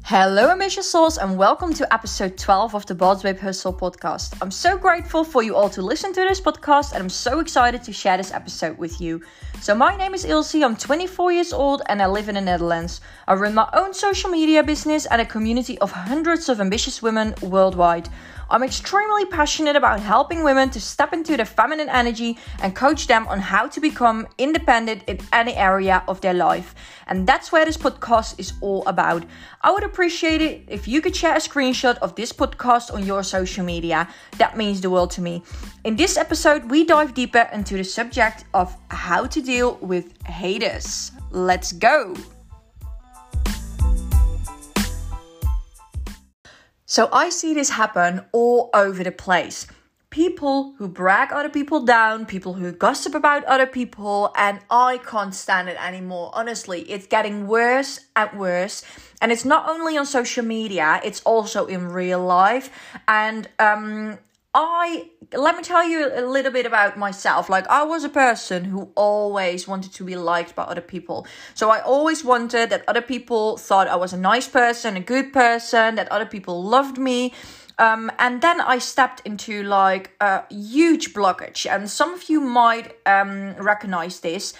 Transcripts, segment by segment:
Hello, ambitious souls, and welcome to episode 12 of the Boss Babe Hustle podcast. I'm so grateful for you all to listen to this podcast, and I'm so excited to share this episode with you. So my name is Ilse, I'm 24 years old, and I live in the Netherlands. I run my own social media business and a community of hundreds of ambitious women worldwide. I'm extremely passionate about helping women to step into their feminine energy and coach them on how to become independent in any area of their life. And that's where this podcast is all about. I would appreciate it if you could share a screenshot of this podcast on your social media. That means the world to me. In this episode, we dive deeper into the subject of how to deal with haters. Let's go! So I see this happen all over the place. People who brag other people down, people who gossip about other people, and I can't stand it anymore. Honestly, it's getting worse and worse. And it's not only on social media, it's also in real life. And let me tell you a little bit about myself. Like, I was a person who always wanted to be liked by other people. So I always wanted that other people thought I was a nice person, a good person, that other people loved me. And then I stepped into like a huge blockage. And some of you might recognize this.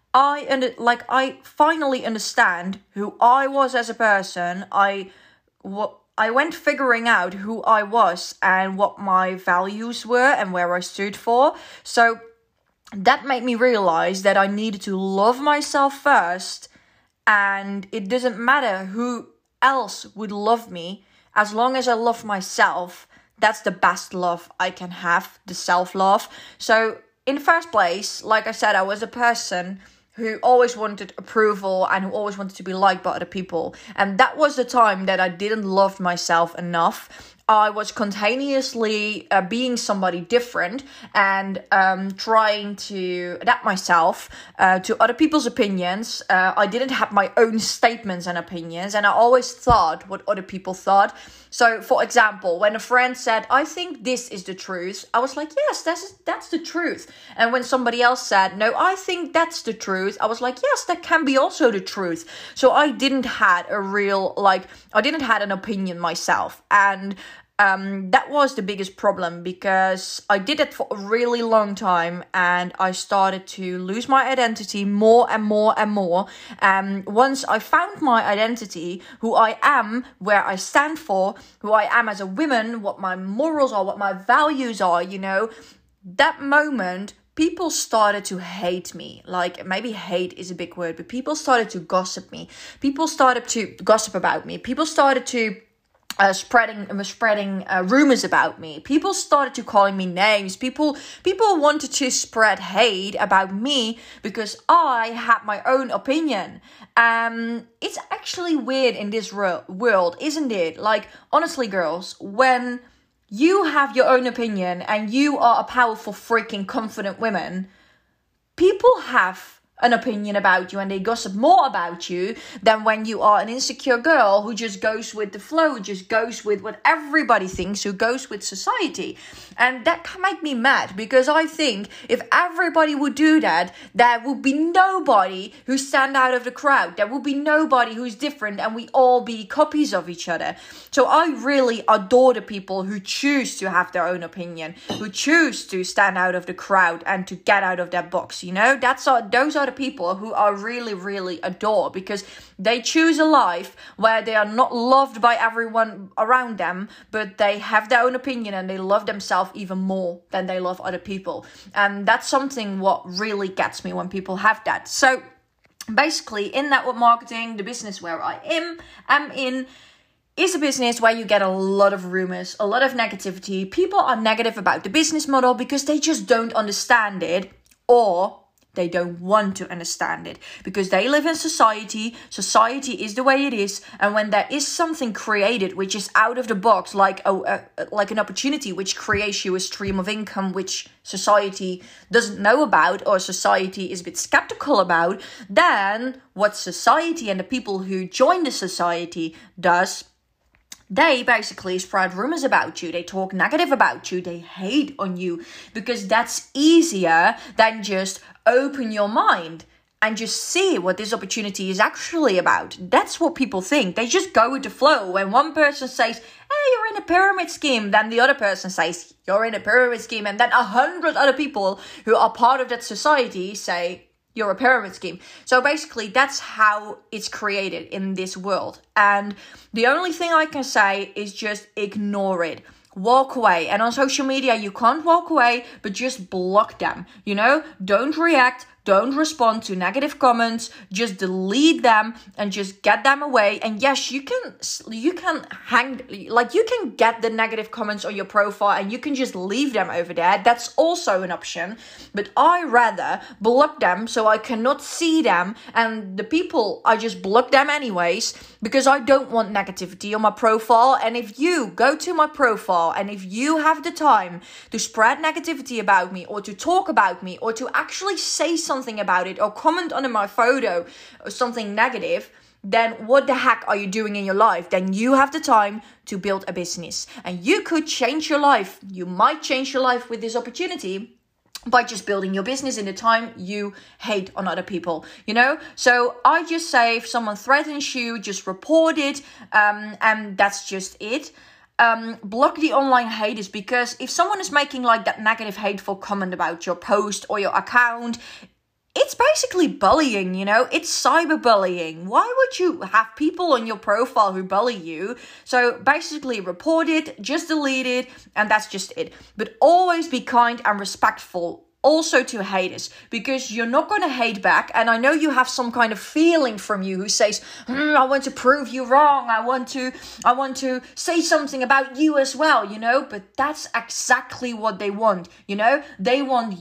I finally understand who I was as a person. I went figuring out who I was and what my values were and where I stood for. So that made me realize that I needed to love myself first. And it doesn't matter who else would love me. As long as I love myself, that's the best love I can have, the self-love. So in the first place, like I said, I was a person who always wanted approval and who always wanted to be liked by other people. And that was the time that I didn't love myself enough. I was continuously being somebody different and trying to adapt myself to other people's opinions. I didn't have my own statements and opinions, and I always thought what other people thought. So, for example, when a friend said, I think this is the truth, I was like, yes, that's the truth. And when somebody else said, no, I think that's the truth, I was like, yes, that can be also the truth. So I didn't have an opinion myself. And that was the biggest problem, because I did it for a really long time and I started to lose my identity more and more and more. And once I found my identity, who I am, where I stand for, who I am as a woman, what my morals are, what my values are, that moment, people started to hate me. Like, maybe hate is a big word, but people started to gossip me. People started to gossip about me. People started to spreading rumors about me. People started to calling me names. People wanted to spread hate about me because I had my own opinion. It's actually weird in this world, isn't it? Like, honestly, girls, when you have your own opinion and you are a powerful, freaking confident woman, people have an opinion about you and they gossip more about you than when you are an insecure girl who just goes with the flow, just goes with what everybody thinks, who goes with society. And that can make me mad, because I think if everybody would do that, there would be nobody who stand out of the crowd. There would be nobody who's different and we all be copies of each other. So I really adore the people who choose to have their own opinion, who choose to stand out of the crowd and to get out of their box. Those are the people who I really, really adore, because they choose a life where they are not loved by everyone around them, but they have their own opinion and they love themselves even more than they love other people. And that's something what really gets me when people have that. So basically, in network marketing, the business where I am in, is a business where you get a lot of rumors, a lot of negativity. People are negative about the business model because they just don't understand it, or they don't want to understand it because they live in society. Society is the way it is. And when there is something created which is out of the box, like an opportunity which creates you a stream of income which society doesn't know about, or society is a bit skeptical about, then what society and the people who join the society does, they basically spread rumors about you. They talk negative about you. They hate on you because that's easier than just open your mind and just see what this opportunity is actually about. That's what people think. They just go with the flow. When one person says, hey, you're in a pyramid scheme, then the other person says, you're in a pyramid scheme. And then 100 other people who are part of that society say, you're a pyramid scheme. So basically, that's how it's created in this world. And the only thing I can say is just ignore it. Walk away. And on social media, you can't walk away, but just block them. Don't react. Don't respond to negative comments. Just delete them and just get them away. And yes, you can get the negative comments on your profile and you can just leave them over there. That's also an option. But I rather block them so I cannot see them. And the people, I just block them anyways because I don't want negativity on my profile. And if you go to my profile and if you have the time to spread negativity about me or to talk about me or to actually say something about it or comment under my photo or something negative, then what the heck are you doing in your life? Then you have the time to build a business and you could change your life. You might change your life with this opportunity by just building your business in the time you hate on other people, So I just say if someone threatens you, just report it, and that's just it. Block the online haters, because if someone is making like that negative hateful comment about your post or your account, it's basically bullying, it's cyberbullying. Why would you have people on your profile who bully you? So basically report it, just delete it, and that's just it. But always be kind and respectful also to haters, because you're not going to hate back. And I know you have some kind of feeling from you who says, I want to prove you wrong. I want to say something about you as well, but that's exactly what they want. They want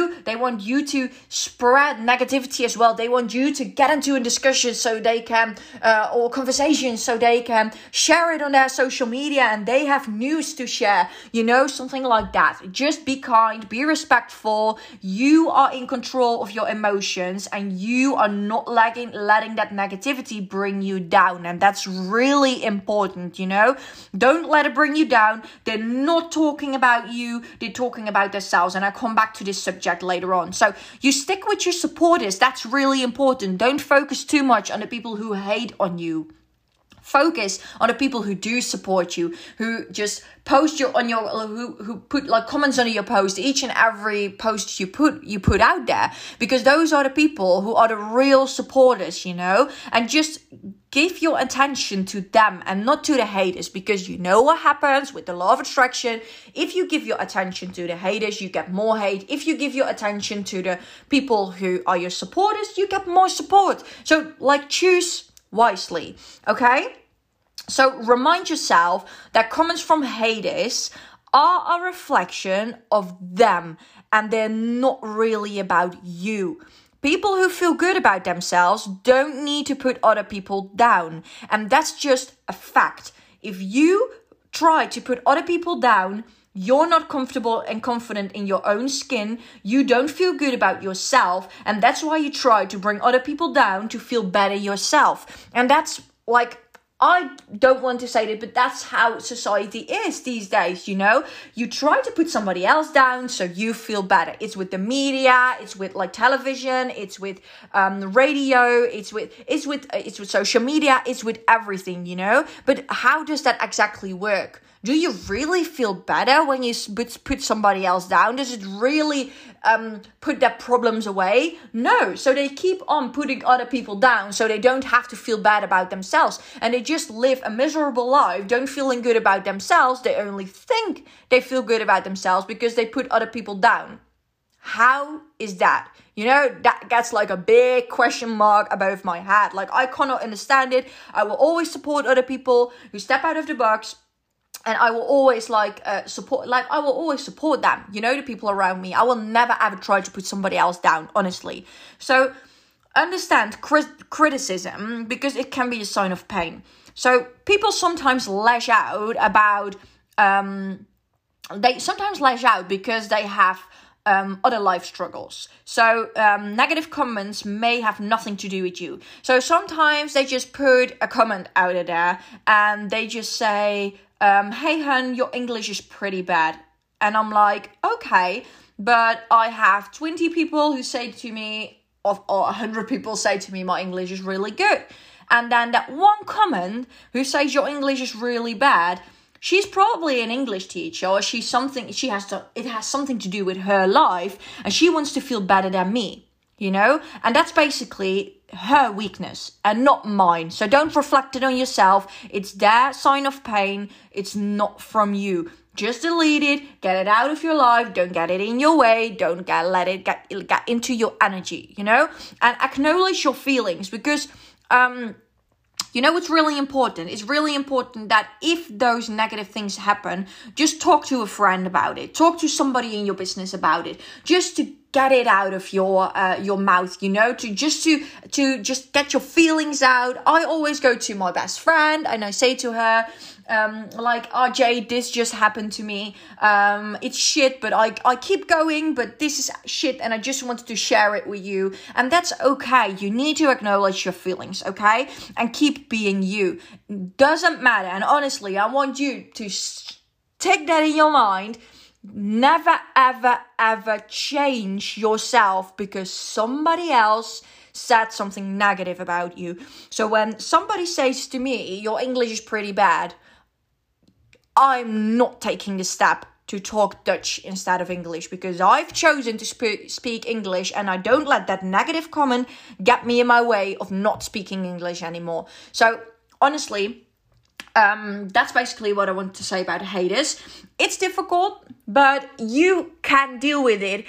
you to spread negativity as well. They want you to get into a discussion so they can, or conversation so they can share it on their social media and they have news to share, something like that. Just be kind, be respectful. You are in control of your emotions and you are not letting that negativity bring you down. And that's really important, Don't let it bring you down. They're not talking about you. They're talking about themselves. And I'll come back to this subject later on. So you stick with your supporters. That's really important. Don't focus too much on the people who hate on you. Focus on the people who do support you, who just post who put like comments under your post, each and every post you put out there, because those are the people who are the real supporters, and just give your attention to them and not to the haters, because what happens with the law of attraction. If you give your attention to the haters, you get more hate. If you give your attention to the people who are your supporters, you get more support. So choose wisely, okay? So remind yourself that comments from haters are a reflection of them and they're not really about you. People who feel good about themselves don't need to put other people down, and that's just a fact. If you try to put other people down, you're not comfortable and confident in your own skin. You don't feel good about yourself. And that's why you try to bring other people down to feel better yourself. And that's I don't want to say that, but that's how society is these days, You try to put somebody else down so you feel better. It's with the media, it's with television, it's with radio, it's with social media, it's with everything, But how does that exactly work? Do you really feel better when you put somebody else down? Does it really put their problems away? No. So they keep on putting other people down so they don't have to feel bad about themselves. And they just live a miserable life, don't feeling good about themselves. They only think they feel good about themselves because they put other people down. How is that? That gets a big question mark above my head. I cannot understand it. I will always support other people who step out of the box. And I will always support them, the people around me. I will never ever try to put somebody else down, honestly. So understand criticism, because it can be a sign of pain. So people sometimes lash out because they have other life struggles. So negative comments may have nothing to do with you. So sometimes they just put a comment out of there and they just say, hey hun, your English is pretty bad. And I'm like, okay, but I have 20 people who say to me, or 100 people say to me, my English is really good. And then that one comment who says your English is really bad, she's probably an English teacher, or it has something to do with her life, and she wants to feel better than me, you know? And that's basically her weakness and not mine. So don't reflect it on yourself. It's their sign of pain. It's not from you. Just delete it, get it out of your life, don't get it in your way, don't let it get into your energy, you know? And acknowledge your feelings, because you know what's really important? It's really important that if those negative things happen, just talk to a friend about it. Talk to somebody in your business about it. Just to get it out of your mouth, you know, to just get your feelings out. I always go to my best friend and I say to her, like, RJ, this just happened to me. It's shit, but I keep going, but this is shit and I just wanted to share it with you. And that's okay. You need to acknowledge your feelings, okay? And keep being you. Doesn't matter. And honestly, I want you to take that in your mind. Never, ever, ever change yourself because somebody else said something negative about you. So when somebody says to me, your English is pretty bad, I'm not taking the step to talk Dutch instead of English, because I've chosen to speak English, and I don't let that negative comment get me in my way of not speaking English anymore. So honestly, that's basically what I want to say about haters. It's difficult, but you can deal with it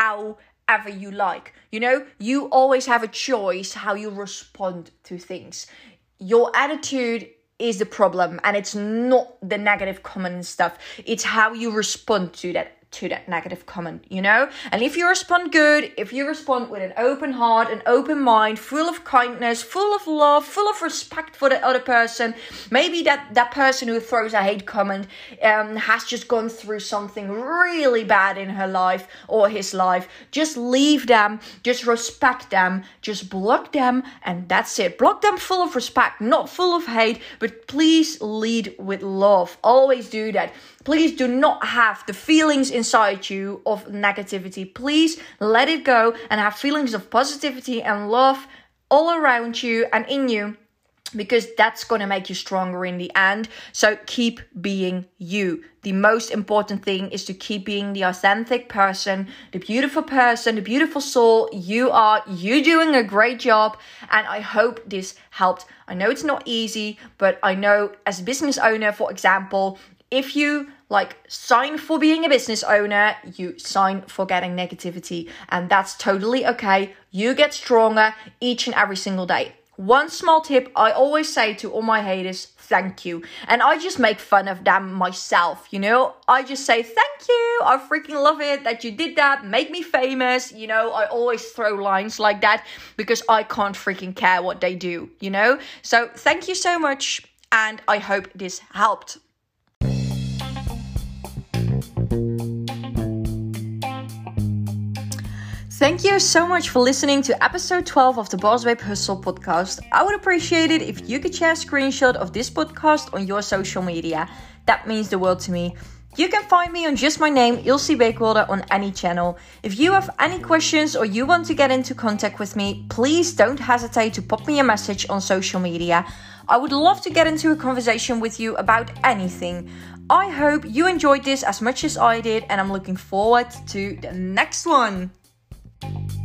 however you like. You know, you always have a choice how you respond to things. Your attitude is the problem, and it's not the negative comment and stuff. It's how you respond to that negative comment, you know? And if you respond good, if you respond with an open heart, an open mind, full of kindness, full of love, full of respect for the other person, maybe that person who throws a hate comment has just gone through something really bad in her life or his life. Just leave them, just respect them, just block them, and that's it. Block them full of respect, not full of hate, but please lead with love. Always do that. Please do not have the feelings inside you of negativity. Please let it go and have feelings of positivity and love all around you and in you, because that's going to make you stronger in the end. So keep being you. The most important thing is to keep being the authentic person, the beautiful soul you are. You're doing a great job, and I hope this helped. I know it's not easy, but I know as a business owner, for example, if you sign for being a business owner, you sign for getting negativity, and that's totally okay. You get stronger each and every single day. One small tip I always say to all my haters, thank you. And I just make fun of them myself, you know. I just say, thank you. I freaking love it that you did that. Make me famous. You know, I always throw lines like that because I can't freaking care what they do, you know. So thank you so much. And I hope this helped. Thank you so much for listening to episode 12 of the Boss Babe Hustle podcast. I would appreciate it if you could share a screenshot of this podcast on your social media. That means the world to me. You can find me on just my name, Ilse Beekwolde, on any channel. If you have any questions or you want to get into contact with me, please don't hesitate to pop me a message on social media. I would love to get into a conversation with you about anything. I hope you enjoyed this as much as I did, and I'm looking forward to the next one.